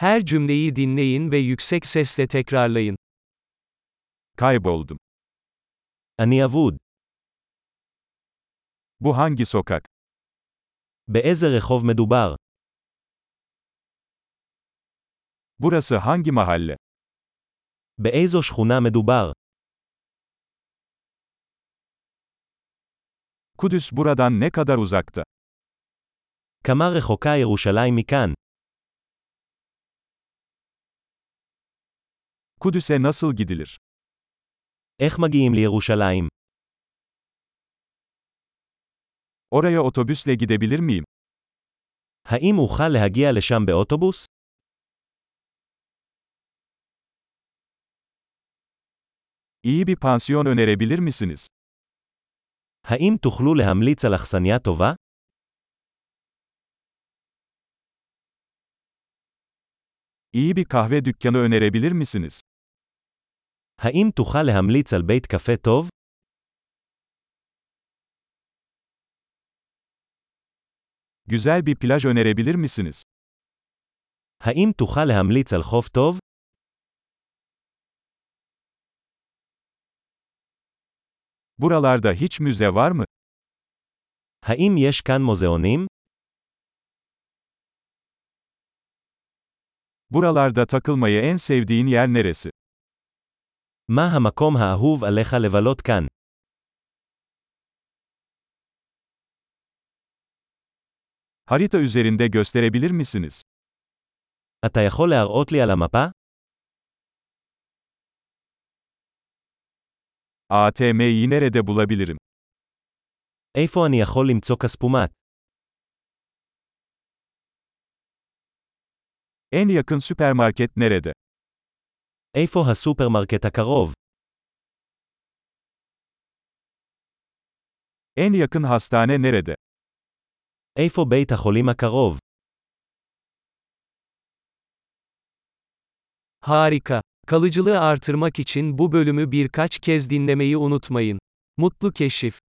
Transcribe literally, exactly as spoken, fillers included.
Her cümleyi dinleyin ve yüksek sesle tekrarlayın. Kayboldum. אני אבוד. Bu hangi sokak? באיזה רחוב מדובר? Burası hangi mahalle? באיזו שכונה מדובר? Kudüs buradan ne kadar uzakta? כמה רחוקה ירושלים מכאן? Kudüs'e nasıl gidilir? איך מגיעים לירושלים? Oraya otobüsle gidebilir miyim? האם אוכל להגיע לשם באוטובוס? İyi bir pansiyon önerebilir misiniz? האם תוכלו להמליץ על אכסניה טובה? İyi bir kahve dükkanı önerebilir misiniz? האם תוכל להמליץ על בית קפה טוב? Güzel bir plaj önerebilir misiniz? האם תוכל להמליץ על חוף טוב? Buralarda hiç müze var mı? האם יש כאן מוזיאונים? Buralarda takılmayı en sevdiğin yer neresi? מה המקום האהוב עליך לבלות כאן? Harita üzerinde gösterebilir misiniz? אתה יכול להראות לי על המפה? A T M'yi nerede bulabilirim? איפה אני יכול למצוא כספומט? En yakın süpermarket nerede? איפה הסופרמרקט הקרוב? En yakın hastane nerede? איפה בית החולים הקרוב? Harika. Kalıcılığı artırmak için bu bölümü birkaç kez dinlemeyi unutmayın. Mutlu keşif.